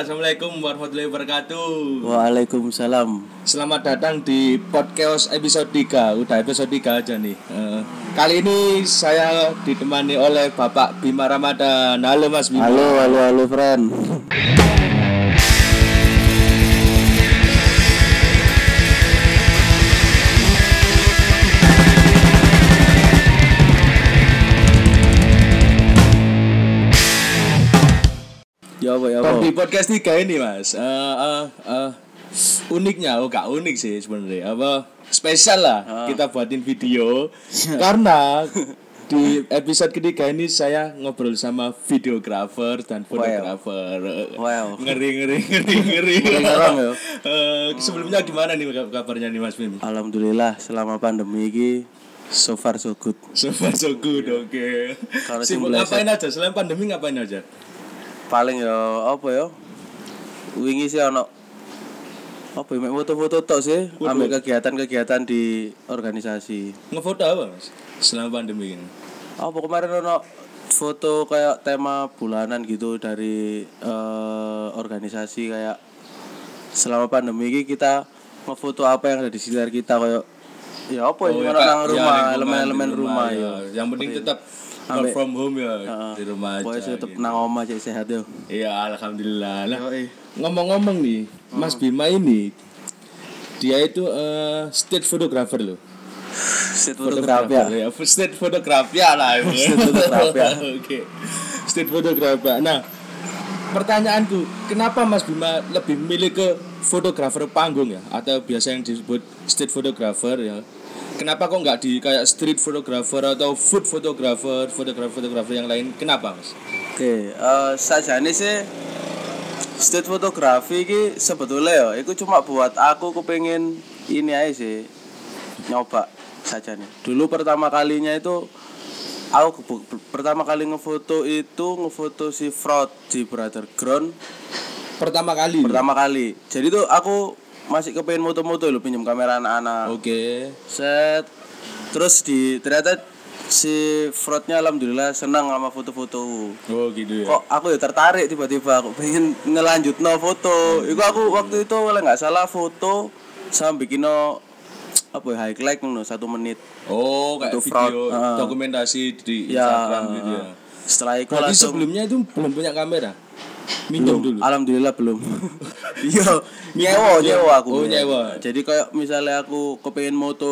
Assalamualaikum warahmatullahi wabarakatuh. Waalaikumsalam. Selamat datang di podcast episode 3. Udah episode 3 aja nih. Kali ini saya ditemani oleh Bapak Bima Ramadan. Halo Mas Bima. Halo friend. Ya apa. Di podcast 3 ini Mas, uniknya, gak unik sih sebenarnya. Spesial lah kita buatin video karena di episode ketiga ini saya ngobrol sama videografer dan fotografer. Wow. Ngeri. Ngerang ya. Sebelumnya gimana nih kabarnya nih Mas Bim? Alhamdulillah selama pandemi ini so far so good. So far so good, oke. Sibuk ngapain aja? Selain pandemi ngapain aja? Paling ya apa ya? Wingi sih ono apa ya foto-foto tok sih, ambil kegiatan-kegiatan di organisasi. Ngefoto apa Mas? Selama pandemi ini. Apa kemarin ono foto kayak tema bulanan gitu dari organisasi kayak selama pandemi ini kita ngefoto apa yang ada di sekitar kita kayak ya apa ya nang rumah, elemen-elemen rumah ya. Yang penting tetap work from home ya di rumah aja. Pokoknya tetap nang omah cek sehat yo. Iya, alhamdulillah. Nah, ngomong-ngomong nih, Mas Bima ini dia itu street photographer loh. Street photographer ya. Street photographer lah. Street photographer. Oke. Street photographer. Nah, pertanyaanku, kenapa Mas Bima lebih milih ke fotografer panggung ya atau biasa yang disebut street photographer ya? Kenapa kok nggak di kayak street photographer atau food photographer, fotografer yang lain? Kenapa Mas? Oke, sajane sih street photography ini sebetulnya ya, itu cuma buat aku kepengen ini aja sih nyoba saja nih. Dulu pertama kalinya itu aku pertama kali ngefoto si Fraud di Brother Ground. Pertama kali. Jadi tuh aku masih kepengen moto-moto lho, pinjam kamera anak-anak. Oke. Set. Terus ternyata si Fraudnya alhamdulillah senang sama foto-foto. Oh gitu ya. Kok aku ya tertarik tiba-tiba aku pengen ngelanjutno foto. Iku aku waktu itu kalau enggak salah foto sama bikin apa ya highlight ngono 1 menit. Oh, kayak video dokumentasi di Instagram gitu ya. Setelah itu langsung. Tapi sebelumnya itu belum punya kamera. Minjem dulu. Alhamdulillah belum. Iya, nyewa aku. Oh, nyewa. Jadi kayak misalnya aku kepengen moto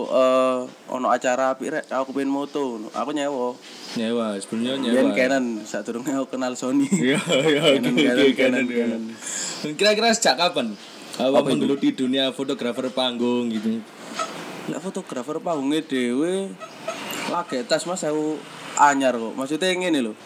ono acara apik rek, aku pengen moto, aku nyewa. Sebelumnya nyewa. Yen Canon sadurunge aku kenal Sony. Iya, Canon. Kira-kira sejak kapan awak menggeluti dunia fotografer panggung gitu? Lah fotografer panggungnya dhewe lagi tas Mas aku anyar kok. Maksudnya ngene lho.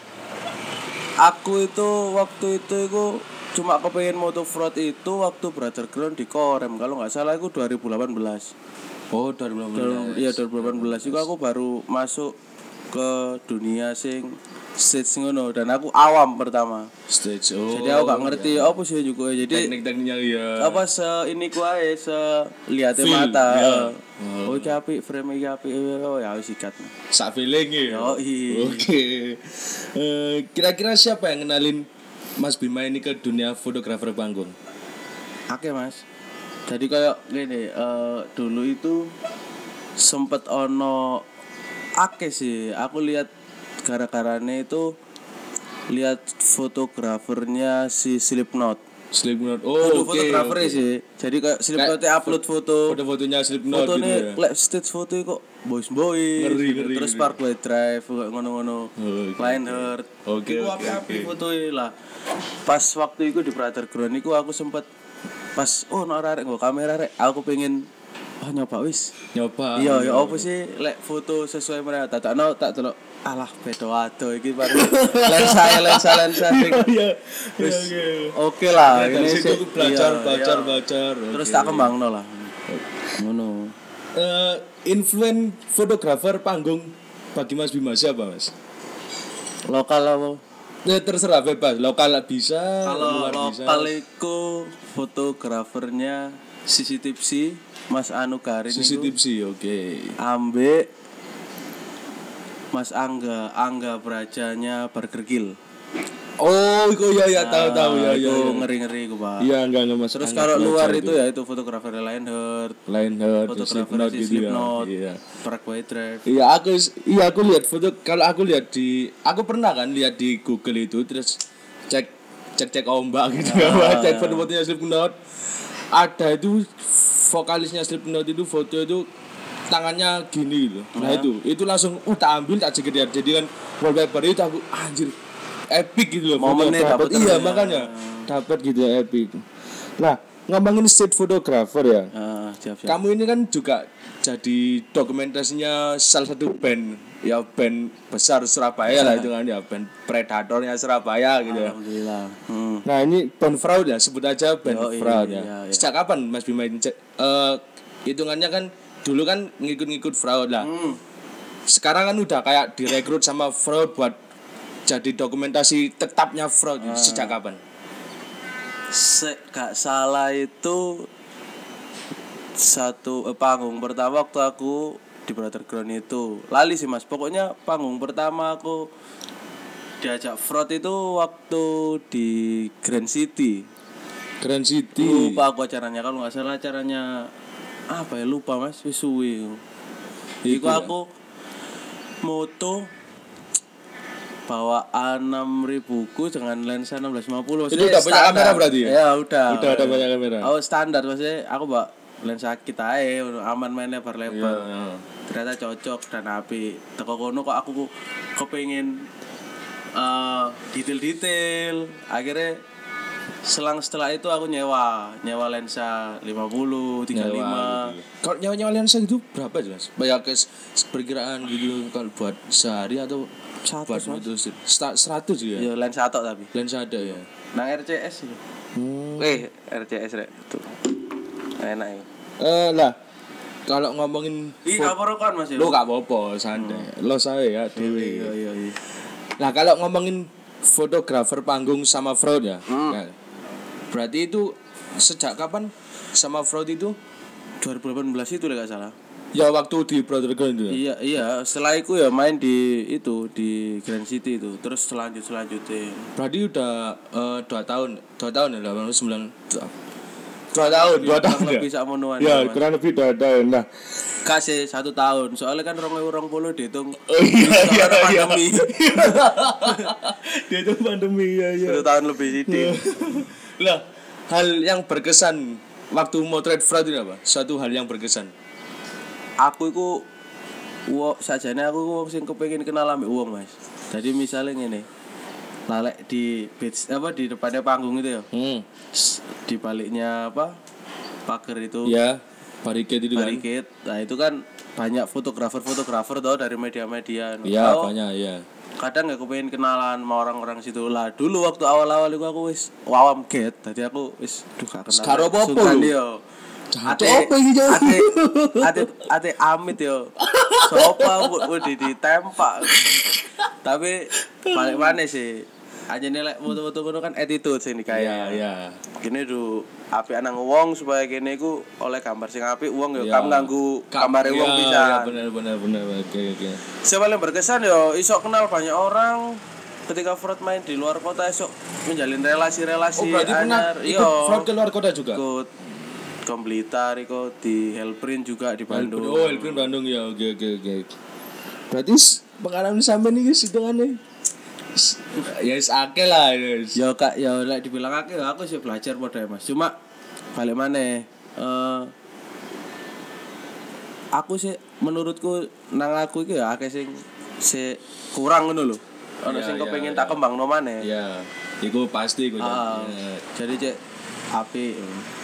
Aku itu waktu itu cuma kepengen moto Fraud itu waktu Brother Ground di Korem kalau nggak salah itu 2018. Oh 2018. Iya 2018 itu aku baru masuk ke dunia stage ngono dan aku awam pertama. Stage. Jadi aku gak ngerti apa sih juga. Jadi teknik-tekniknya ya. Apa ini ku ae liate mata. Ya. Oh iki apik frame iki apik ya wis sikat. Sak feeling ya. Oke. Kira-kira siapa yang kenalin Mas Bima ini ke dunia fotografer panggung? Oke Mas. Jadi kayak gini, dulu itu sempet ono sih. Aku lihat gara-garane itu lihat fotografernya si Slipknot. Oh, fotografernya sih. Jadi kayak Slipknotnya upload fotonya Slipknot gitu ya. Fotonya stage foto kok boys. Ngeri. Terus Parkway Drive kayak ngono-ngono. Lionheart. Oke. Foto lah. Pas waktu itu di Brother Ground iku aku sempet pas arek nggo kamera rek. Aku pengen nyoba. Iya, ya apa sih lek foto sesuai mereka tak delok alah beda ado iki baru lensa Iya. Oke lah, ini sih belajar. Terus tak kembangno lah. Ngono. Influence fotografer panggung bagi Mas Bima siapa, Mas? Lokal apa? Ya terserah bebas, lokal bisa, kalau luar bisa. Lokal itu fotografernya CCTV Mas Anu Karin CCTV, oke. Ambek Mas Angga Brajanya Burger Kill. Oh, iku ya tahu ya. Itu ngeri-ngeri ku, Pak. Iya, enggak Mas. Terus kalau luar itu ya itu fotografer Lionheart, fotografer Slipknot gitu ya. Slipknot, Iya. Parkway Drive. Iya aku lihat foto kalau aku lihat aku pernah kan lihat di Google itu terus cek ombak gitu cek foto-fotonya Slipknot. Ada itu vokalisnya Slipknot itu foto itu tangannya gini gitu. Nah itu langsung tak ambil tak jeger jadi kan wallpaper itu aku anjir epic gitu loh. Momennya dapat iya makanya dapat gitu ya epic. Nah, ngomongin street photographer ya. Siap. Kamu ini kan juga jadi dokumentasinya salah satu band besar Surabaya lah itu kan ya band predatornya Surabaya gitu ya. Alhamdulillah. Nah, ini band fraud ya, sebut aja band fraud ya. Iya. Sejak kapan Mas Bima hitungannya kan dulu kan ngikut-ngikut fraud lah. Sekarang kan udah kayak direkrut sama fraud buat jadi dokumentasi tetapnya fraud. Sejak kapan? Gak salah itu satu panggung pertama waktu aku di Brother Ground itu lali sih Mas, pokoknya panggung pertama aku diajak fraud itu waktu di Grand City. Lupa aku acaranya, kalau nggak salah acaranya apa ya, lupa Mas, wis suwi. Iku aku moto bawa 6.000 ku dengan lensa 1650. Itu udah banyak kamera berarti ya? Ya udah ada banyak kamera. Oh standar maksudnya aku bawa lensa kita aman main lebar-lebar. Iya. Ternyata cocok dan api. Teko kono kok aku kepengin detail-detail. Akhirnya setelah itu aku nyewa lensa 50, 35. Kalau nyewa lensa itu berapa sih Mas? Banyak perkiraan gitu kalau buat sehari atau 100 buat itu 100 ya? Iya, lensa tok tapi. Lensa ada ya. Nang RCS itu. RCS rek. Tuh. Enak ya. Lah kalau ngomongin kapan Mas ya? lo gak apa-apa, santai. Lo saya ya dewe. Iya. Nah, kalau ngomongin fotografer panggung sama fraud ya. Nah, berarti itu sejak kapan sama fraud itu? 2018 itu lah gak salah. Ya waktu di Brother Ground itu. Iya, setelah itu ya main di Grand City itu. Terus selanjutnya. Berarti udah 2 tahun ya, 2 tahun ya. Lebih sakmonoan. Ya, kurang lebih 2 tahun. Nah, kasih 1 tahun. Soalnya kan 2020 dihitung. Iya. Pandemi. Dia itu pandemi ya. 1 tahun lebih sithik. Lah, hal yang berkesan waktu motret fraud itu apa? Suatu hal yang berkesan. Aku iku sajane aku wong sing kepengin kenal ambek wong, Mas. Jadi misalnya ngene. Lalek di di depannya panggung itu ya. Di baliknya pagar itu. Ya, barricade itu kan. Barricade. Nah, itu kan banyak fotografer tau dari media-media. Iya, banyak ya. Kadang aku pengen kenalan sama orang-orang situ lah. Dulu waktu awal-awal itu aku wis wawam get. Jadi aku wis gak kenal. Karo apa yo? Ate amit yo. Sopo udah ditempak. Tapi balik mana sih? Aja nilai foto-foto kono kan attitude sing dikaya. Iya. Kene du apik nang wong supaya kene iku oleh gambar sing apik wong yo kam nganggo gambare wong bisa. Iya, benar. Oke. Siapa yang berkesan yo iso kenal banyak orang. Ketika fraud main di luar kota esok menjalin relasi-relasi anyar. Ikut fraud ke luar kota juga. Ikut Blitar, ikut di Helprint juga di Bandung. Oh, Helprint Bandung ya. Oke. Berarti pengalaman sampean iki hitungane ya wis akeh lah wis. Ya Kak, ya lek dibilang akeh aku sih belajar padha Mas. Cuma balik maneh aku sih menurutku nang aku iki ya akeh sing kurang ngono lho. Ana sing kepengin tak kembangno maneh. Iya. Iku pasti iku. Jadi cek apik.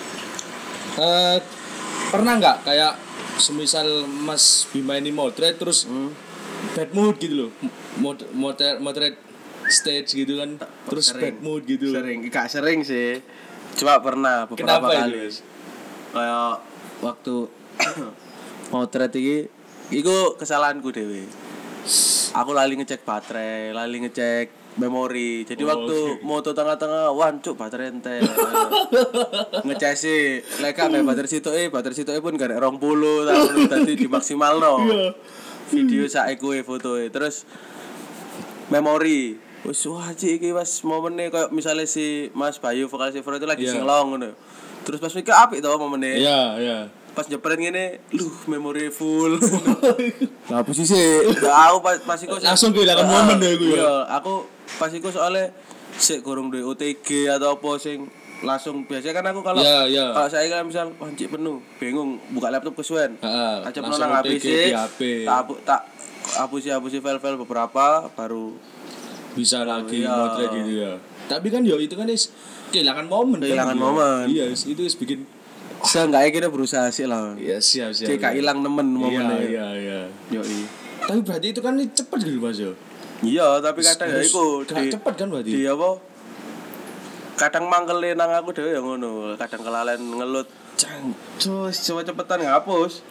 Pernah nggak kayak semisal Mas Bima ini motret terus bad mood gitu loh, motret stage gitu kan terus bad mood gitu. Gak sering sih, cuma pernah beberapa kali. Kayak waktu motret iki iku kesalahanku dhewe. Aku lali ngecek baterai, lali ngecek memori. Jadi waktu moto tengah-tengah wancuk baterai entek. Ngecesi lek gak baterai sitoke pun gak 20 tahun dadi dimaksimalno. Video sak fotoe terus memori Wis wajib iki Mas momennya kayak misalnya si Mas Bayu vokalis Evro itu lagi Iya. singelong ngono. Terus pas mikir apik to momennya. Iya. Pas nyepret ngene, memori full. Lah apa sih sih? Aku pas iku Langsung kehilangan momen ya iku ya. Iya, aku pas iku soalnya sik gorong duwe OTG atau apa sing langsung biasanya kan aku kalau Iya. kalau saya kan misal pancik penuh bingung buka laptop kesuwen Heeh. aja Langsung nang HP OTG sih di HP. tak hapusi file-file beberapa baru Bisa lagi Iya. motret gitu ya. Tapi kan yo itu kan is kehilangan momen. Kehilangan kan, momen. Iya, itu is bikin seenggaknya kita berusaha sih lah iya siap. cek gak hilang nemen momennya Iya. yoi Tapi berarti itu kan cepet gitu Mas yo. iya tapi kadang ya iku Gak cepet kan berarti. di apa kadang mangkele nang aku dhewe ya ngono kadang kelalen ngelut cus coba cepetan ngapus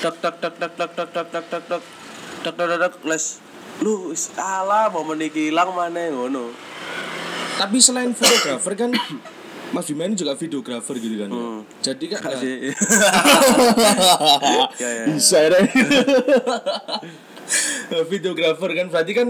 tak les lu wis alah momen iki ilang maneh ngono Tapi selain fotografer kan Mas Bima ini juga videografer gitu kan. Ya? Jadi kan kasih ya. bisa deh. Videografer kan berarti kan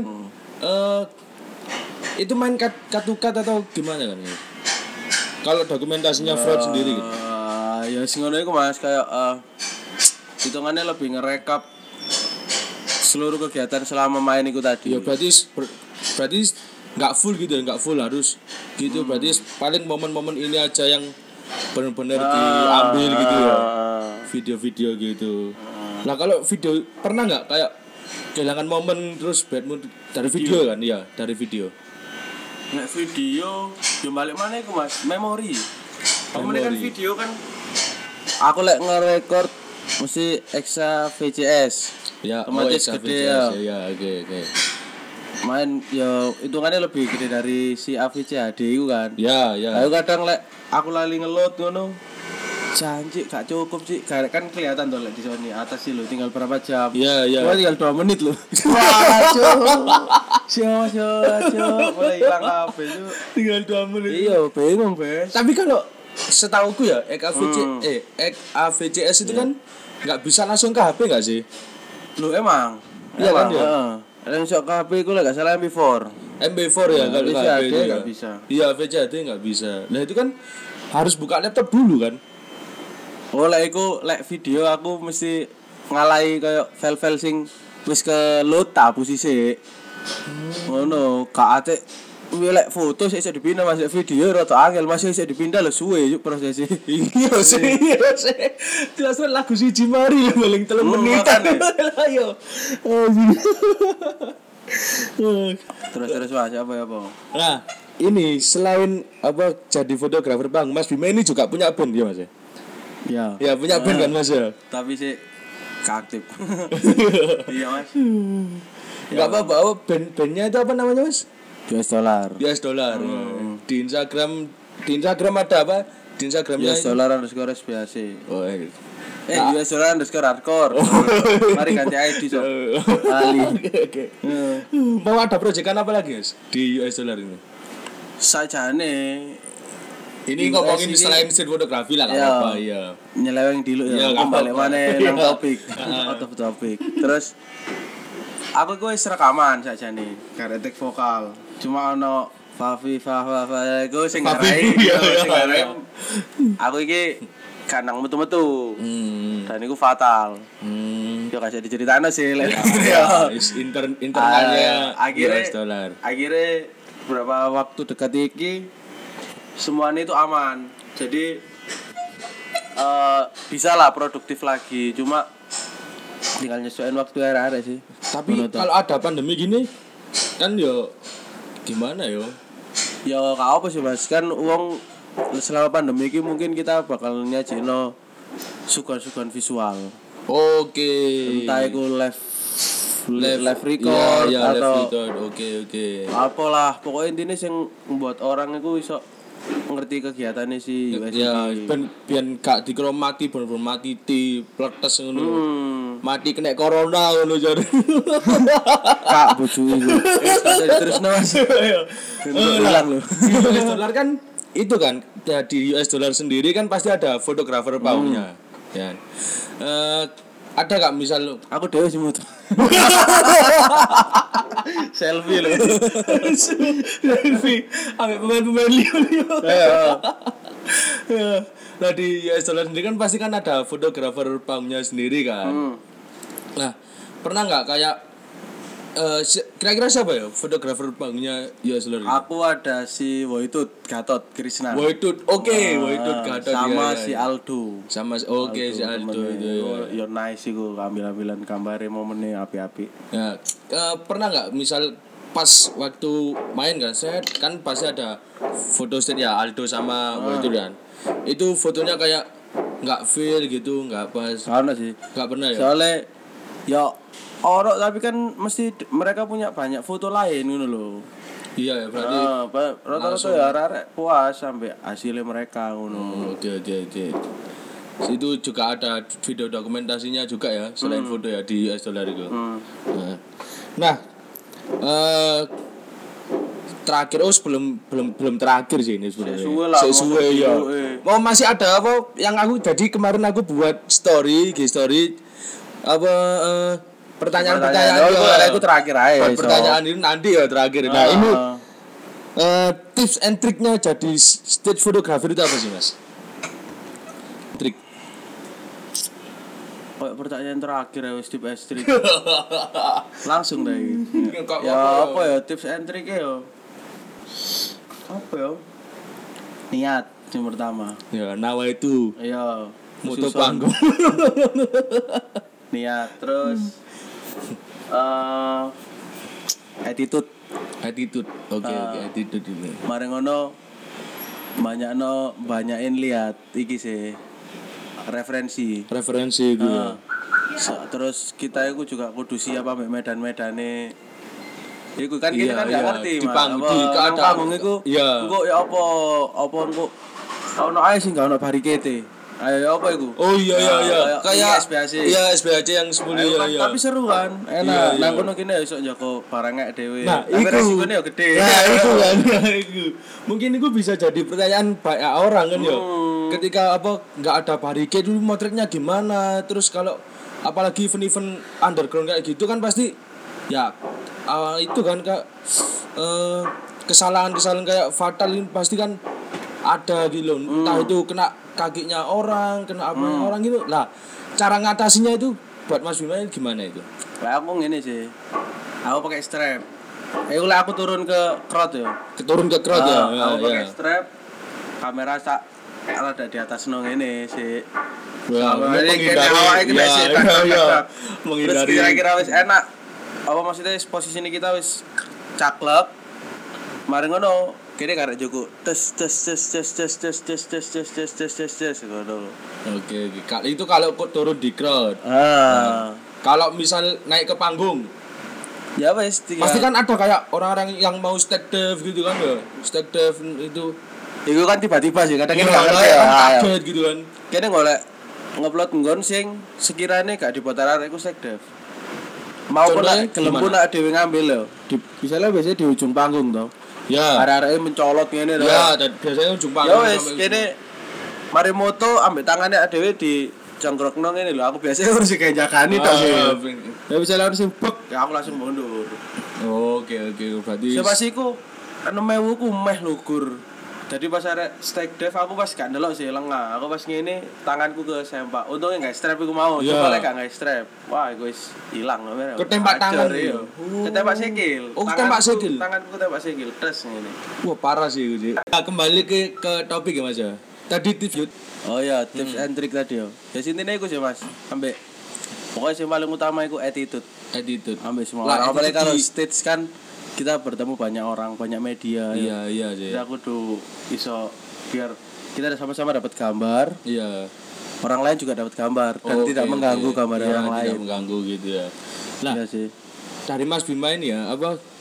itu main cut atau gimana kan ya? Kalau dokumentasinya fraud sendiri gitu. Ya sing ngono iku Mas kayak hitungannya lebih ngerekap seluruh kegiatan selama main itu tadi. Ya berarti nggak full gitu ya, nggak full harus gitu. Berarti paling momen-momen ini aja yang benar-benar diambil gitu ya. Video-video gitu. Nah kalau video pernah nggak kayak kehilangan momen terus bad mood dari video kan? Iya dari video. Nek video yo balik mana iku Mas? Memori. Kan video kan aku lek ngerekord mesti Exa VCS. Ya, otomatis gede ya. Ya, oke. Main yo hitungannya lebih gede dari si AVC HD itu kan. Ya. Aku kadang lek aku lali ngelot ngono. Janji gak cukup sih. Kan kelihatan tuh lek di Sony atas sih lo tinggal berapa jam. Iya. Cuma tinggal 2 menit lo. Wah, Cuk. Mulai hilang HP cuk. Tinggal 2 menit. Iya, bingung, Bes. Tapi kalau setauku ya, AVCS itu kan nggak bisa langsung ke HP nggak sih? Lu emang? Iya kan ya? Yang sok ke HP ku lek gak salah MP4. MP4 ya kalau VCD HP itu nggak ya. bisa. Iya VCD nggak bisa. Nah itu kan harus buka laptop dulu kan? Oh lek video aku mesti ngalahi kayak file-file sing wis ke load tak hapusi sik. Ngono, gak ate lek foto sik iso dipindah masuk video rada angel masih iso dipindah lho suwe yuk prosesnya. Iya sih. Jelas lagu siji mari paling 3 menit. Ayo. Terus Mas apa ya, Bang? Nah, ini selain apa jadi fotografer Bang, Mas Bima ini juga punya band ya Mas ya? Ya. Ya punya band kan Mas ya? Tapi sih aktif. Iya, Mas. Enggak apa-apa, bandnya itu apa namanya Mas? US dollar. Di Instagram ada apa? Di Instagramnya US dollar underscore SBAC. Oh, US dollar underscore hardcore. Mari ganti ID so. Ali. Oke. Mau ada proyekan apa lagi Mas di US dollar ini? Sajane Ini ngomongin selain street fotografi lah Iya. apa ya. nyeleweng dulu Iya, ya. nggak Balik apa-apa. mana nang topik. Out of topic. Terus aku wis rekaman sajane, karek vokal. Cuma ono Fafi iku sing ngarai. Sing ngarai. Aku iki kanang metu-metu. Dan iku fatal. Yo kasih diceritakno sih lek. Ya, internalnya akhirnya US dollar. akhirnya beberapa waktu dekat iki semuanya itu aman. Jadi bisa lah produktif lagi. Cuma tinggal nyesuaiin waktu arek sih. Tapi kalau ada pandemi gini kan yo gimana yo? Ya gak apa sih Mas, kan uang selama pandemi ini mungkin kita bakal nyajino sugan-sugan visual. Oke. Entah itu live record ya, atau live record. Oke. apalah, pokoknya intinya yang membuat orang itu iso ngerti kegiatannya si USD. Ya, ben gak dikira mati bener-bener mati di pletes ngono. Mati kena corona ngono jar. Kak bojo iku. Terus Mas. Hilang lho. US dollar kan itu kan ya, di US dollar sendiri kan pasti ada fotografer paunya. Ya. ada gak misal Aku dhewe sing muter. Selfie lho. selfie ambek pemain-pemain Leo. Ya. Nah di US Dollar sendiri kan pasti kan ada fotografer panggungnya sendiri kan. Nah pernah nggak kayak kira-kira siapa ya fotografer panggungnya US Dollar? Aku ada si Woitut Gatot Krishna. Woitut, Woitut Gatot sama ya, si ya. Aldo. Sama si Aldo itu. Yo nice iku ambil-ambilan gambare momennya api-api. Ya, pernah nggak misal pas waktu main kan saya kan pasti ada foto set ya Aldo sama Woitut kan. Itu fotonya kayak nggak feel gitu, nggak pas. Karena sih. Nggak pernah ya. Soalnya ya orang tapi kan mesti mereka punya banyak foto lain ngono lho. Iya ya berarti. Rata-rata ya arek puas sampai hasilnya mereka ngono. Oke. Itu juga ada video dokumentasinya juga ya selain foto ya di US Dollar itu. Nah, terakhir belum terakhir sih ini sebenarnya. Sesuai ya. Oh masih ada apa yang aku jadi kemarin aku buat story apa pertanyaan itu terakhir aja. Pertanyaan ini nanti ya terakhir. Nah, ini tips and triknya jadi stage photographer itu apa sih, Mas? Trik. Pertanyaan terakhir ya wis tips and trik. Langsung deh. Ya apa ya tips and triknya ya? Apa ya? Niat yang pertama. Ya, nawa itu. Iya. Moto panggung. Niat terus attitude. Oke, attitude ini. Mari ngono banyakin lihat iki sih referensi itu. Terus kita itu juga kudu siap ambek medan-medane. Iku kan kita kan enggak ngerti di panggung iku. Engko ya apa engko ono ae sing enggak ono barikete. Ayo apa iku? Oh iya. Kayak SBHC. Iya, SBHC yang 10 ya. Tapi seru kan. Enak. Nang kono kene iso njaga barangnya dhewe. Nah, tapi resikonya ya gede. Nah, itu kan. Mungkin itu bisa jadi pertanyaan banyak orang kan ya. Ketika enggak ada barikade dulu motretnya gimana? Terus kalau apalagi event underground kayak gitu kan pasti ya itu kan kesalahan kayak fatal ini pasti kan ada gitu loh. Entah itu kena kakinya orang, kena apa orang gitu. Nah, cara ngatasinya itu buat Mas Bima gimana itu? Lah aku ngene sih. Aku pakai strap. Aku turun ke crowd ya. Turun ke crowd ya. Aku pakai strap. Kamera sak ada di atas nong ini sih. Menghindari. Terus kira-kira wis enak. Apa maksudnya posisi ini kita wis caklep. Mari ngono. Kene karek Joko tes ngono. Oke. Itu kalau turun di crowd. Kalau misal naik ke panggung. Ya wes pasti kan ada kayak orang-orang yang mau step dive gitu kan ya. Step dive itu. Itu kan tiba-tiba sih kadang kene enggak ngerti ya. Kaget gitu kan. Kene golek ngupload nggon sing sekiranya gak diputar arek iku step dive. Mau kena gelem nak dhewe ngambil lho. Misalnya biasanya di ujung panggung toh. Ya. Arek-arek mencolot ngene lho. Ya, dan biasanya ujung panggung. Ya wis kene mari moto ambek tangane dhewe di congkrokno ngene lho. Aku biasanya harus kayak jagani tok sih. Ya bisa langsung bek, ya aku langsung mundur. Oke. Berarti siapa sih ku 6.000 ku meh lugur. Jadi pas arek stake dive aku pas gak ndelok sih lengah. Aku pas ngene tanganku ke sempak. Untungnya gak strap iku mau. Coba lek gak strap. Wah, iku wis ilang lho. Ketembak tangan yo. Ketembak sikil. Oh, ketembak sikil. Tanganku ketembak sikil tes ngene. Wah, parah sih itu sih. Nah, kembali ke topik ya Mas ya. Tadi tips. Oh ya, tips and trick tadi yo. Ya intine iku sih Mas. Ambek pokoknya yang paling utama iku attitude. Ambek semua. Apalagi kalau stage kan kita bertemu banyak orang, banyak media. Iya sih. Jadi aku tuh iso biar kita sama-sama dapat gambar. Iya. Orang lain juga dapat gambar dan tidak mengganggu gambar orang lain. Tidak mengganggu gitu ya. Nah, iya sih. Dari Mas Bima ini ya,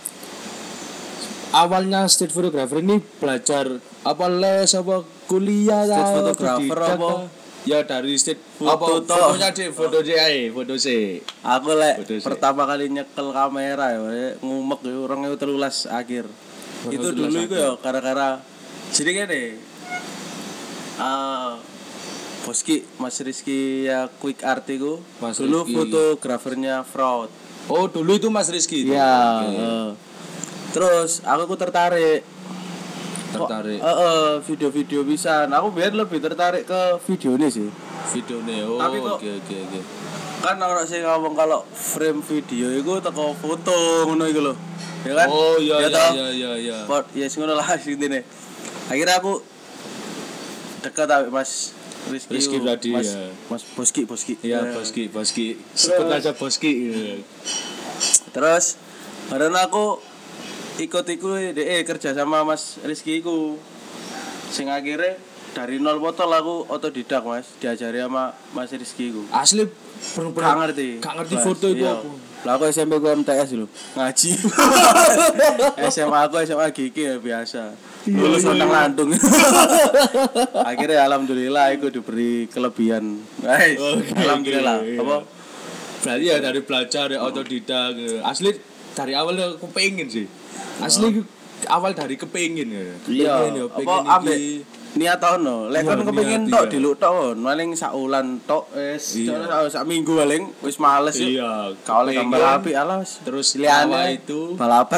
awalnya street photographer ini belajar les kuliah street photographer apa? Ya dari street fotonya foto C. Aku pertama kali nyekel kamera ya ngumek ya 2013 akhir. Itu dulu itu ya gara-gara jadi gini. Mas Rizky ya Quick Art itu Mas dulu Rizky. fotografernya Fraud. Oh, dulu itu Mas Rizky itu. Iya. Oke. Terus aku tertarik. Tertarik. Video-video bisa. Aku biar lebih tertarik ke video ini sih. Videonya. Oh, Tapi kok- oke. Kan orang sih ngomong kalau frame video itu teko foto ngono iku lho. Ya kan? Oh, iya toh? iya. Pot ya sing ngono lah intine. Akhirnya aku dekat sama Mas Rizky iku. tadi, Mas, ya. Mas Boski. Iya, Boski. Sebut aja Boski. Terus karena aku ikut-ikut kerja sama Mas Rizky iku. Sing akhirnya dari nol botol aku otodidak Mas, diajari sama Mas Rizky iku. Asli Gak bener-bener ngerti. gak ngerti Mas, foto itu iya. aku. Lah aku SMP ku MTS lho, ngaji. SMA aku SMA GK ya biasa. Lulus nang Landung. Akhirnya alhamdulillah aku diberi kelebihan. Guys, Oke, alhamdulillah. oke, iya. Apa? Berarti ya dari belajar ya otodidak. Asli dari awal aku pengen sih. Asli awal dari kepengin ya. Iya, Kepengen ya, apa pengen ambek iki. niat tau no. Lek Iya, kon kepengin niat, tok iya. diluk tok, maling sak wulan tok wis Iya. sak minggu paling wis males yuk. Iya, Kau oleh kepengen. gambar api alas. Terus Pilihannya awal itu balapan.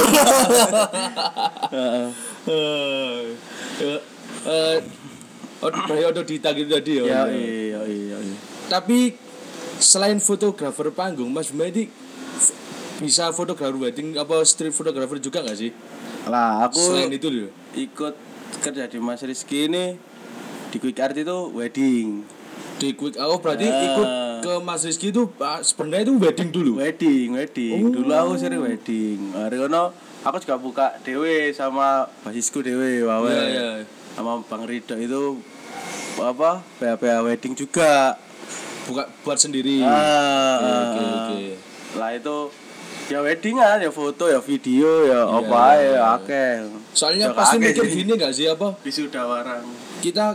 Heeh. dari otodidak itu tadi ya. Ya iya. Tapi selain fotografer panggung, Mas Medi bisa fotografer wedding apa street photographer juga nggak sih? Lah aku Selain itu loh. ikut kerja di Mas Rizky ini di Quick Art itu wedding. Di quick berarti Ah. ikut ke Mas Rizky itu sebenarnya itu wedding dulu. Wedding. Oh. Dulu aku sering wedding. Hari kono aku juga buka dewe sama basisku dewe wae. Iya. Sama Bang Ridho itu apa? PH wedding juga. Buka buat sendiri. Oke. Lah itu ya weddingan, ya foto, ya video, ya Iya, apa iya. ya akeh. Soalnya Ya, pasti akeh mikir sih. gini nggak sih apa? Wisuda warang. Kita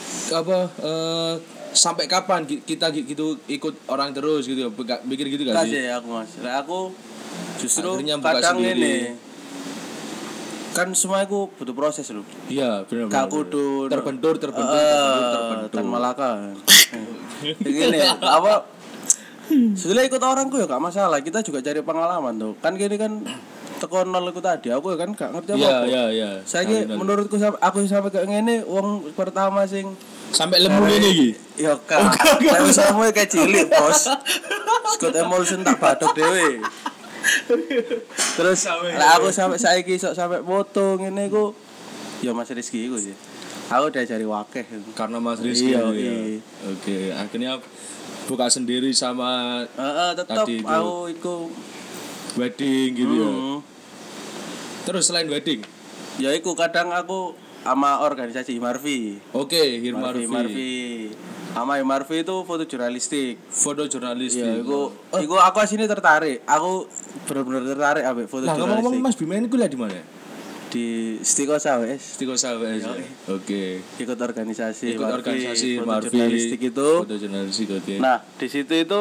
sampai kapan kita gitu ikut orang terus gitu ya? Mikir gitu nggak Enggak sih? sih aku Mas. Lah aku justru Akhirnya buka kadang sendiri. ini kan semua itu butuh proses loh. Iya, benar. Gak kudu terbentur. Tan Malaka. Begini apa setelah ikut orang ku ya gak masalah, kita juga cari pengalaman tuh. Kan gini kan teko nol iku tadi aku kan gak ngerti apa. Iya. Saya menurutku aku sampai kayak ngene wong pertama sing sampai lemu ini iki. ya kak. Saya sama kayak cilik, Bos. Scott emulsion tak batok dhewe. Terus lah aku sampai saiki sok sampai foto ngene iku ya Mas Rizky iku sih. Aku diajari wakeh. Karena Mas Rizky Iya, gitu ya. iya. Oke, akhirnya buka sendiri sama Tetep Tadi itu. aku iku wedding gitu ya. Terus selain wedding, ya iku kadang aku sama organisasi Himarvi. oke, Hirmarvi. Sama Himarvi itu foto jurnalistik. Foto jurnalistik. Ya iku aku asine tertarik. Aku bener-bener tertarik ambek foto Nah, ngomong-ngomong jurnalistik. Mas Bima ini kuliah di mana? Di Stikosa wes. Tiko Sawes. Iya. Oke. Ikut organisasi Ikut organisasi foto Marvi. jurnalistik itu. Foto jurnalistik oke. Nah, di situ itu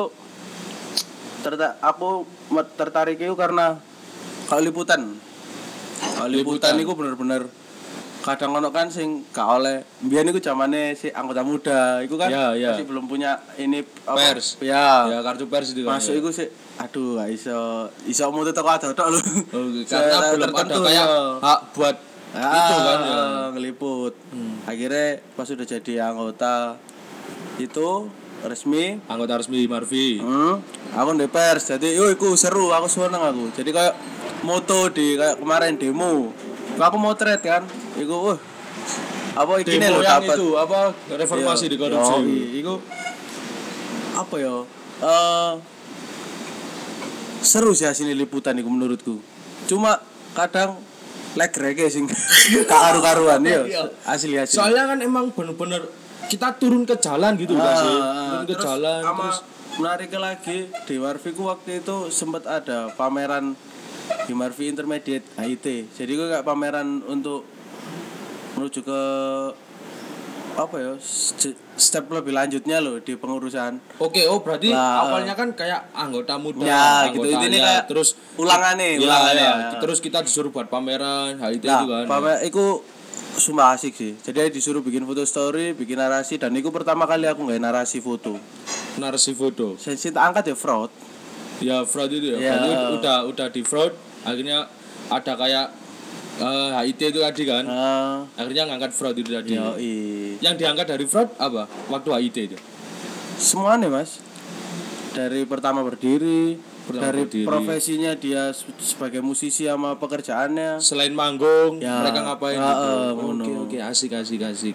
aku tertarik itu karena kalau liputan. Kalau liputan itu bener-bener kadang ono kan sing gak oleh mbiyen iku zamane si anggota muda iku kan Ya. masih belum punya ini Pers. Ya. Kartu pers itu kan. Masuk iku sih aduh gak iso mutu teko tok lho. Oke, karena belum ada tertentu, kayak ya. hak buat itu kan ya. Ngeliput. Akhirnya pas sudah jadi anggota itu resmi Anggota resmi Marvi. aku di pers jadi iku seru, aku seneng aku jadi kayak moto di kayak kemarin demo aku motret kan iku apa iki Demo lho yang dapat itu apa reformasi di korupsi. iku apa ya seru sih hasil liputan iku menurutku cuma kadang leg-rege sing karu-karuan ya asli. Soalnya kan emang bener-bener kita turun ke jalan gitu kan sih. Turun ke terus jalan sama terus menarik lagi di Marvi ku waktu itu sempat ada pameran di Marvi Intermediate HIT. Jadi gue kayak pameran untuk menuju ke apa ya step lebih lanjutnya loh di pengurusan. Oke, berarti Nah, awalnya kan kayak anggota muda, Ya, gitu. anggota Ini ya, kayak terus ulangannya. ya. Terus kita disuruh buat pameran, itu Nah, kan. pamer iku sumpah asik sih. Jadi disuruh bikin foto story, bikin narasi dan itu pertama kali aku nggak narasi foto. Narasi foto. Sensi tak angkat ya fraud. Ya fraud itu ya. Ya. Berarti udah di fraud, akhirnya ada kayak HIT itu tadi kan. Akhirnya ngangkat fraud itu tadi. Yang diangkat dari fraud apa? Waktu HIT itu. Semuanya Mas. Dari pertama berdiri, profesinya dia sebagai musisi sama pekerjaannya. Selain manggung, Ya. mereka ngapain gitu. Oke, asik. Asik.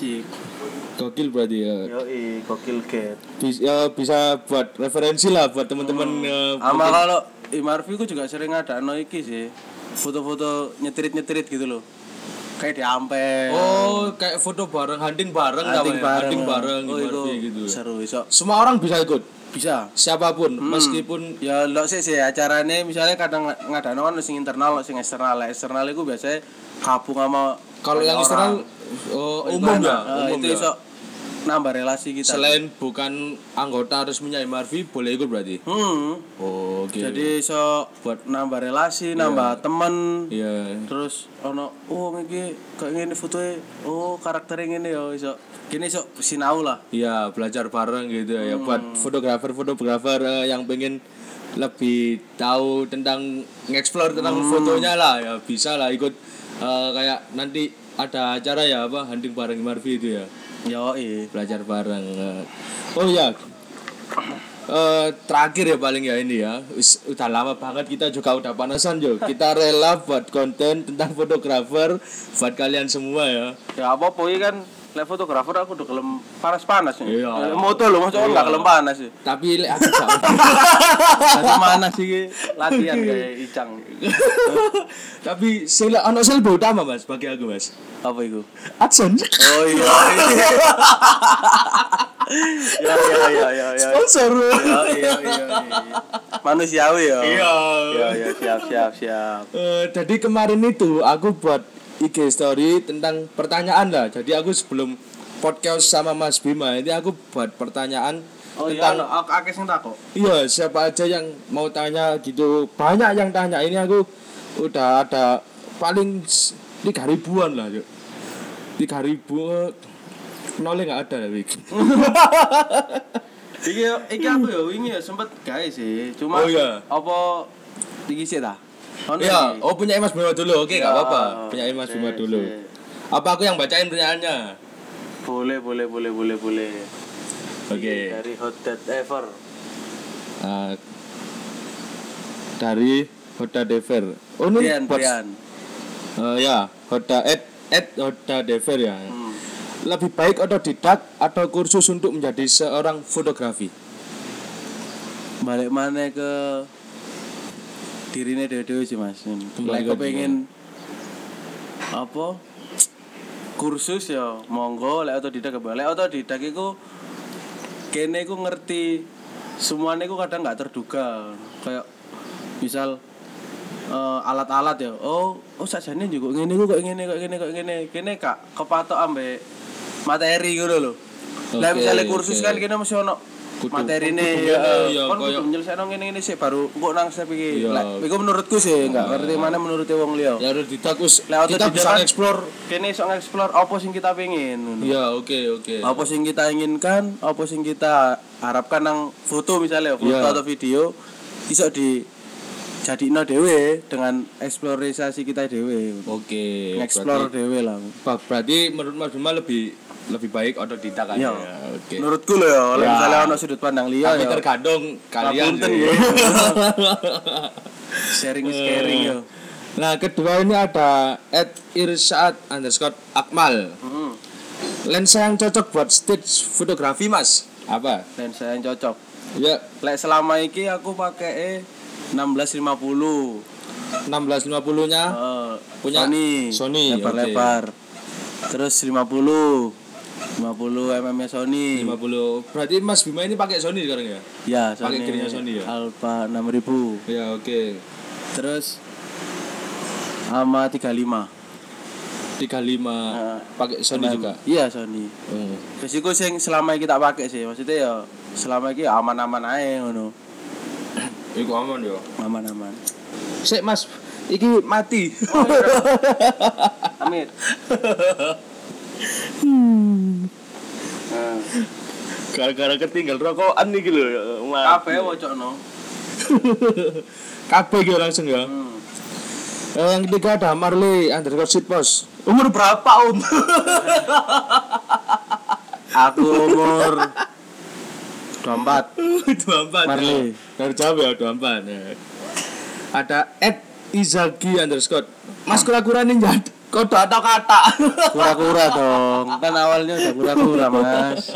Gokil berarti ya. Gokil get. Bisa buat referensi lah buat teman-teman. Sama kalau Imarvi ku juga sering ada iki sih. Foto-foto nyetirit gitu loh. Kayak di Ampel. Oh, kayak foto bareng, hunting bareng Oh, Imarvi gitu. Seru iso. Semua orang bisa ikut. Bisa. Siapapun, meskipun Ya lo sih acarane misalnya kadang ngadano kan sing internal, sing eksternal. Eksternal itu biasanya gabung sama kalau yang eksternal umum ya, itu iso nambah relasi kita. Selain bukan anggota resminya Imarvi boleh ikut berarti. Oh, oke. Jadi iso buat nambah relasi, nambah temen. Iya. Terus ono iki kayak ngene fotoe. Karakternya ngene ya iso. Gini iso sinau lah. Iya, belajar bareng gitu ya. Buat fotografer yang pengen lebih tahu tentang nge-explore tentang fotonya lah ya, bisa lah ikut kayak nanti ada acara ya hunting bareng Imarvi itu ya. Belajar bareng. Oh ya. Terakhir ya paling ya ini ya. Udah lama banget kita juga udah panasan Jo. Kita rela buat konten tentang fotografer buat kalian semua ya. Ya apa-apa kan lek fotografer aku udah kelem panas-panas ya. Iya. Moto lho, masa enggak kelem panas sih. Tapi lek aku gak. Dari mana sih latihan kayak Icang. Tapi ono selebih utama Mas bagi aku Mas. Apa itu? AdSense. Oh iya. Ya. Sponsor. Iya. Manusiawi ya. Iya. Ya, siap. Jadi kemarin itu aku buat IG story tentang pertanyaan lah. Jadi aku sebelum podcast sama Mas Bima ini aku buat pertanyaan tentang akeh sing takok. Iya, siapa aja yang mau tanya gitu. Banyak yang tanya. Ini aku udah ada paling 3.000-an lah, Yuk. 3.000 nolnya enggak ada Wik. Iki aku ya wingi ya sempet gawe sih. Cuma apa iki sih ta? Iya, punya Mas Bima dulu. Oke, enggak apa-apa. Punya Mas Bima dulu. Apa aku yang bacain pertanyaannya? Boleh. Oke. Dari Hot Dad Ever. Dari Hoda Dever. Oh ini Brian. Ya, Hoda Hoda Dever ya. Lebih baik otodidak atau kursus untuk menjadi seorang fotografi? Balik mana ke dirine dewe sih Mas. Kembali aku pengen apa? Kursus ya monggo, lek otodidak lek otodidak iku kene iku ngerti semuanya iku kadang enggak terduga. Kayak misal alat-alat ya. Oh sajane juga ngene iku kok ngene. Kene Kak kepatok ambek materi ngono lho. Lah misale kursus kan kene mesti ono materine kon kudu nyelesaikno ngene sih baru engko nang step iki. Lah iku menurutku sih enggak ngerti mana menurut wong liya. Ya harus ditakus kita bisa explore kene iso ngeksplor apa sing kita pengen ngono. Ya, oke. Apa sing kita inginkan, apa sing kita harapkan nang foto misalnya foto atau video iso di jadina dhewe dengan eksplorasi kita dhewe. Oke. Explore dhewe lah. Berarti menurut Mas Bima lebih baik otodidak aja. Oke. Menurutku lho ya, misalnya ono sudut pandang liya ya. Tapi tergantung kalian. Sharing is caring ya. Nah, kedua ini ada @irsyad_akmal. Lensa yang cocok buat stage fotografi, Mas. Apa? Lensa yang cocok. Ya, lek selama iki aku pakai 1650. 1650-nya punya Sony lebar-lebar. Terus 50 mm Sony. 50. Berarti Mas Bima ini pakai Sony sekarang ya? Ya, Sony. Pakai gearnya Sony ya? Alpha 6000. Ya, oke. Terus sama 35 pakai Sony juga? Iya, Sony. Terus iku sing selama iki tak pakai sih. Maksudnya ya selama iki aman-aman ae ngono. Iku aman ya? Aman-aman. Sik Mas, iki mati. Amit. Gara-gara ketinggal rokokan iki lho ya. Kabeh wocokno. Kabeh iki langsung ya. Yang ketiga ada Marley underscore Sitpos. Umur berapa Om? Aku umur 24. 24. Marley. Dari jawab ya 24. Ya. Ada @izagi underscore. Mas kura-kura ninja kode atau kata? Kura-kura dong. Kan awalnya udah kura-kura, Mas.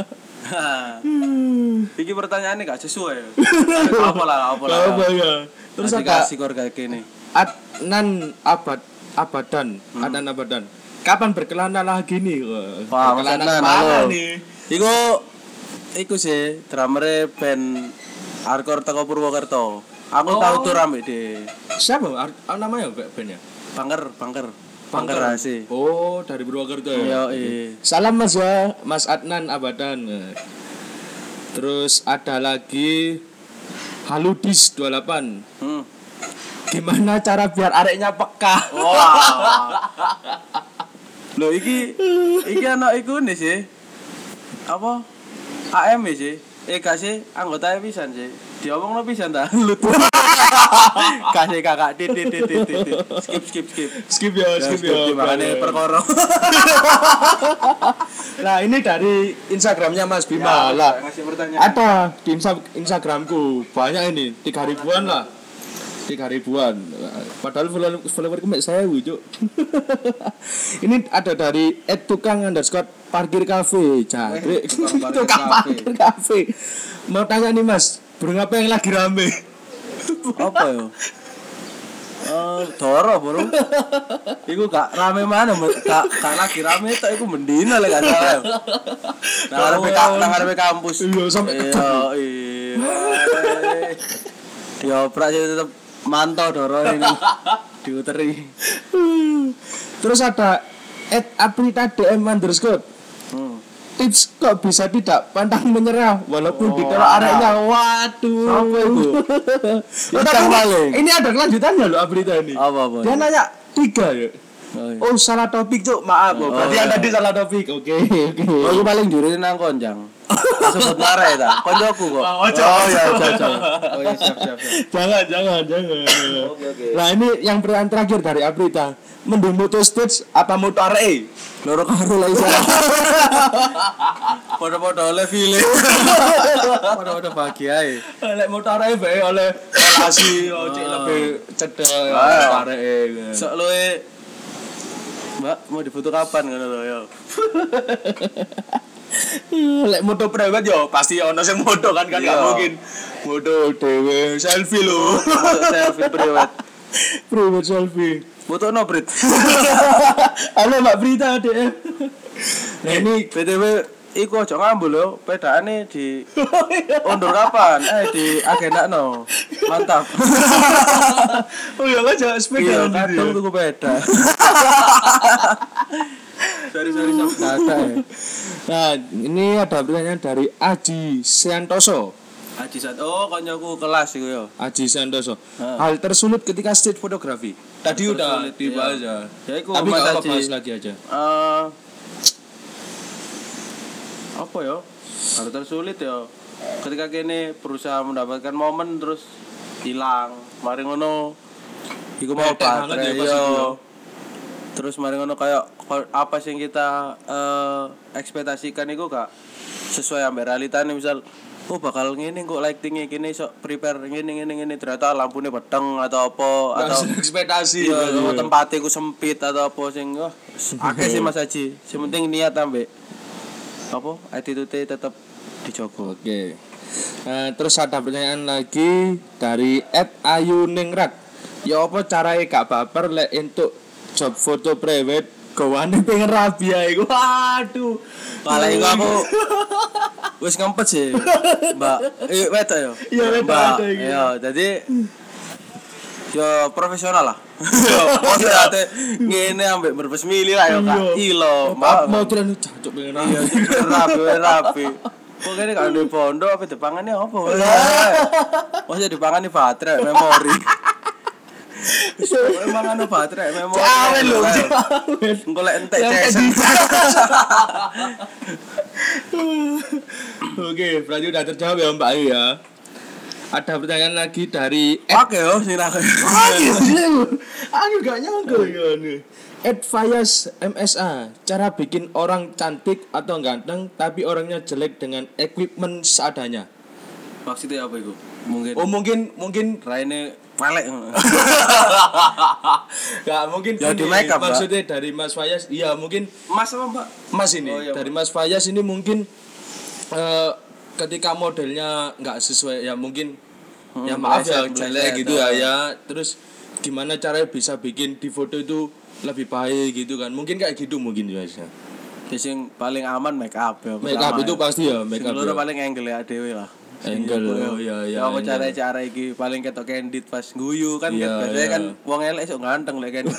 Iki pertanyaannya gak sesuai. Apa lah. Apa ya? Terus ada kasih kor kayak gini. Adnan Abadan. Adnan Abadan. Kapan berkelana lagi nih? Wah, berkelana Adnan, mana halo. nih? Iku sih drummer band hardcore teko Purwokerto. Aku tahu tuh rame deh. Siapa? Namanya bandnya? Bangker Rasi. Oh, dari Purwokerto ya. Iya. Salam Mas ya, Mas Adnan Abadan. Terus ada lagi Haludis 28. Gimana cara biar areknya peka? Wah. Loh iki anak iku nih sih. Apa? AM sih. Gak sih, anggota pisan sih. Diomongno pisan ta? Lut. Kasih kakak tit. Skip ya. Makane perkara. Nah, ini dari Instagramnya Mas Bima lah. Ngasih pertanyaan. Ada di Instagramku banyak ini 3.000-an lah. 3.000-an. Padahal followerku mek 1000, Cuk. Ini ada dari @tukang_parkir cafe. Jangkrik. Tukang parkir cafe. Mau tanya nih Mas, burung apa yang lagi rame? Apa ya? Doro bro. Iku gak rame mana, gak lagi rame tok iku mendina lek gak salah. Nang ngarepe kampus. Iya, sampe dioprak sih tetep mantau doro ini diuteri. Terus ada @apritadm_. Tips kok bisa tidak pantang menyerah walaupun ditolak areknya. Waduh. Apa itu? Ini ada kelanjutannya loh Aprita ini. Apa? Dia nanya 3 ya. Oh, salah topik, Cuk. Maaf. Berarti yang tadi salah topik. Oke. Aku paling juri nang konjang. Sebut arek ta. Koncoku kok. Oh ya, siap. Oh ya, siap. Jangan. Oke. Nah, ini yang pertanyaan terakhir dari Aprita. Mending moto stage apa moto arek? Loro karo lah isa. Podo-podo oleh file. Podo-podo bahagia ae. Lek moto arek bae oleh relasi cek lebih cedek arek. Sok luwe Mbak, mau difoto kapan ngono lho ya. Lek moto prewed yo pasti ono sing moto kan gak mungkin. Moto dhewe selfie lho. Selfie prewed. Prewed selfie. Foto no Brit. Halo Mbak Brita Dek. Nah ini BTW iku aja ngambul lho, pedane di undur kapan? Di agendakno. Mantap. Oh ya aja sepeda kadang tuku peda. Sorry ada ya. Nah, ini ada pertanyaan dari Aji Santoso. Oh, konyoku kelas iku ya. Aji Santoso. Hal tersulit ketika street photography. Tadi udah dibahas ya. Ya iku tapi Mas apa Aji. bahas lagi aja. Apa ya? Hal tersulit ya. Ketika kene berusaha mendapatkan momen terus hilang. Mari ngono. Iku mau baterai yo. Terus mari ngono kayak apa sing kita ekspektasikan iku gak sesuai ambek realitane. Misal bakal ngene kok lighting-e kene sok prepare ngene ternyata lampune peteng atau apa atau ekspektasi tempatnya ku sempit atau apa sing akeh sih Mas Haji. Sing penting niat ambek apa attitude tetap dijogo. Oke. Terus ada pertanyaan lagi dari @ayuningrat. Ya apa carae gak baper lek entuk job foto private gawane pengen rabi ae. Waduh. Malah iku aku wis ngempet sih, Mbak. Wedok ya. Iya, wedok iki. Iya, dadi yo profesional lah. Maksudnya ngene ambek berbes mili lah yo Kak. Ilo, Mbak mau tulen jancuk pengen rabi. Iya, rapi. Kok kene gak ndek pondok apa dipangane apa? Maksudnya dipangane baterai memori. Emang anu baterai memori. Awen lho, awen. Engko lek entek Yang cesen. Oke, berarti udah terjawab ya Mbak Ayu ya. Ada pertanyaan lagi dari Oke yo sing ra. Aku gak nyangka ya nih. Advice MSA, cara bikin orang cantik atau ganteng tapi orangnya jelek dengan equipment seadanya. Maksudnya apa iku? Mungkin Oh mungkin raine pelek. Gak mungkin Ya, gini, di makeup, Mbak. maksudnya dari Mas Fayas. Iya mungkin Mas apa, Mbak? Mas ini Oh, iya, dari Mas Fayas ini mungkin ketika modelnya nggak sesuai ya mungkin ya maaf ya meleset, jelek gitu ya meleset. ya terus gimana caranya bisa bikin di foto itu lebih baik gitu kan mungkin kayak gitu mungkin ya Sing paling aman make up ya. make up itu pasti ya make Sing up loro ya. paling angle ya dhewe lah. Angle, oh, iya, iya, apa angle. cara iki paling ketok candid pas guyu kan Iya, biasanya iya. kan wong elek sok ganteng lek candid.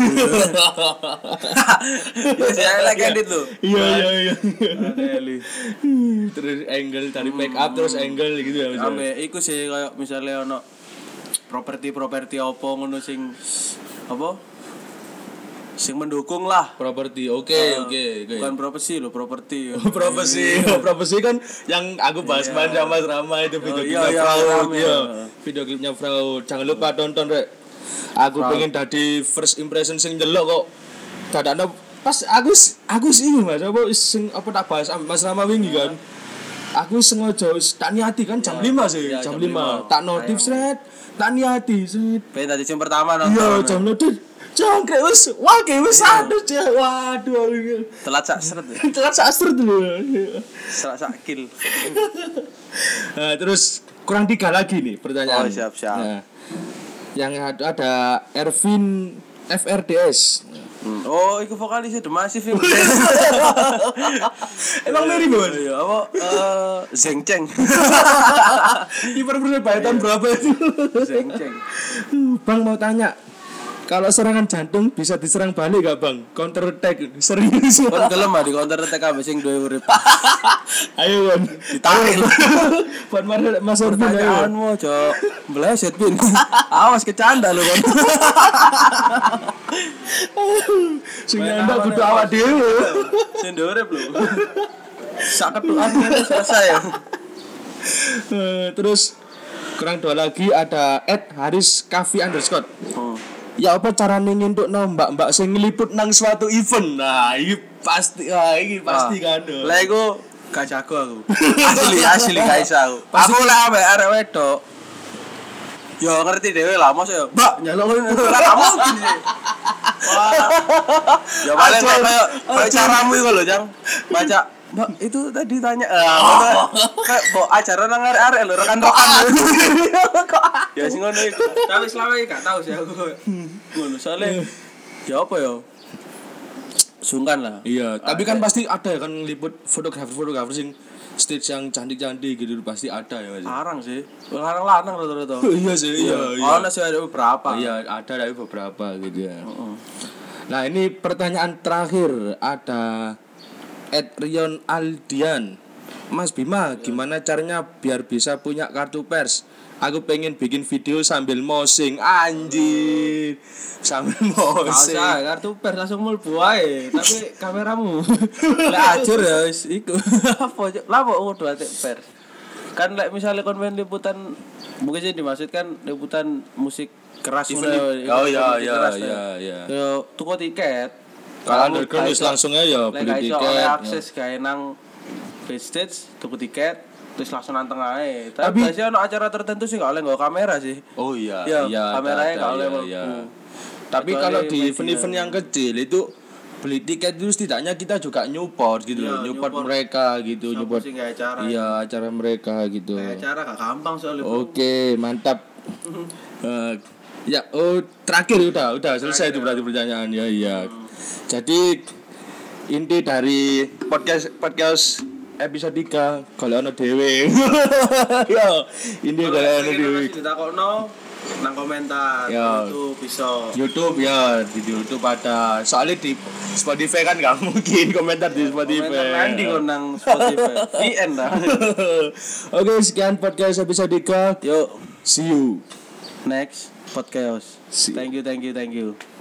Biasanya lek candid lho. iya Adeli. terus angle dari make up terus angle gitu ya misalnya. Ambe iku sih kayak misalnya ono properti apa ngono sing apa? Sing mendukung lah. Properti oke. Bukan profesi lho, properti. Profesi kan yang aku bahas main sama Rama itu video klipnya iya, Fraud rame, ya. ya. Video klipnya Fraud. Jangan lupa tonton rek. Aku pengen dadi first impression sing delok kok. Dadakno pas aku sih Mas apa sing apa tak bahas Mas Rama wingi kan. Aku sengaja tak niati kan jam 5 sih, Iya, jam jam 5. Tak notif sret, tak niati sret. Pengen tadi sing pertama Iya, jam notif. Jangkrik wis, wah wis aduh cek. Waduh. telat sak seret ya. Telat sastra dulu. Sak kill. Nah, terus kurang 3 lagi nih pertanyaan. Oh, siap. Nah, yang ada Ervin FRDS. Oh, iku vokalisnya The Massive. Emang mirip Bos? Iya, apa Zeng Cheng. Kiper Persebaya tahun berapa itu? Zeng Cheng. Bang mau tanya, kalau serangan jantung bisa diserang balik gak Bang? Counter attack serius. Kon gelem ah di counter attack ambek sing duwe urip. Ayo Bang, Ditarik. buat Mas Ervin ayo. Pertanyaanmu, Cok. Meleset pin. Awas kecanda lu kon. Sing ndak kudu awak dhewe. Sing duwe urip lho. Sak ketukan selesai. Terus kurang 2 lagi ada @haris_kavi_. Ya apa carane ngentukno mbak-mbak sing ngliput nang suatu event. Nah, iki pasti kan. Lah iku gak jago aku. Asli gak iso aku. Aku lek ambek arek wedok. Yo ngerti dhewe lah mos yo. Mbak, nyaluk ngene. Lah gak mungkin sih. Wah. Ya paling kayak caramu iku lho, Jang. Baca Mbak, itu tadi tanya kayak mbok acara nang arek-arek lho, rekan-rekan. Ya sing ngono iku. Tapi selama iki gak tau sih aku. Ngono soalnya ya apa ya? Sungkan lah. Iya, tapi kan pasti ada ya kan liput fotografer sing stage yang cantik-cantik gitu pasti ada ya Mas. Larang sih. Larang lanang rata-rata. Iya sih, iya. Ono sih ada beberapa. Iya, ada dari beberapa gitu ya. Nah, ini pertanyaan terakhir ada @Rion Aldian. Mas Bima, gimana caranya biar bisa punya kartu pers? Aku pengen bikin video sambil mosing. Anjir. Sambil mosing. Usah, kartu pers langsung mlebu ae, tapi kameramu. Lek ajur ya wis iku. Apa lah kok kudu atik pers. Kan lek misale kon main liputan mungkin sih dimaksudkan liputan musik keras ngono. Oh iya. Yo tuku tiket. Kalau underground wis langsung aja ya beli tiket. Oleh akses gawe nang backstage tuku tiket terus langsung nanteng ae. Tapi- Tapi biasanya ono acara tertentu sih gak oleh nggawa kamera sih. Oh iya, Iya, kameranya ada, gak oleh iya, mlebu. iya. Tapi Kecuali kalau di media. event-event yang kecil itu beli tiket itu setidaknya kita juga nyupport gitu Iya, loh, nyupport nyupport. mereka gitu, Siapa nyupport. sih gawe acara? Iya, acara mereka gitu. Gawe acara gak gampang soalnya. Oke, mantap. Ya, terakhir udah selesai itu berarti pertanyaan ya, iya. Jadi inti dari podcast episode 3 kalau ono dhewe. Yo, inti kalau ono dhewe. Ditakokno nang komentar Ya. itu bisa. YouTube ya, di YouTube ada. Soalnya di Spotify kan nggak mungkin komentar di Spotify. Komentar nanti kon nang Spotify. VN dah. Oke, sekian podcast episode 3. Yuk, See you. next. podcast. Si- Thank you.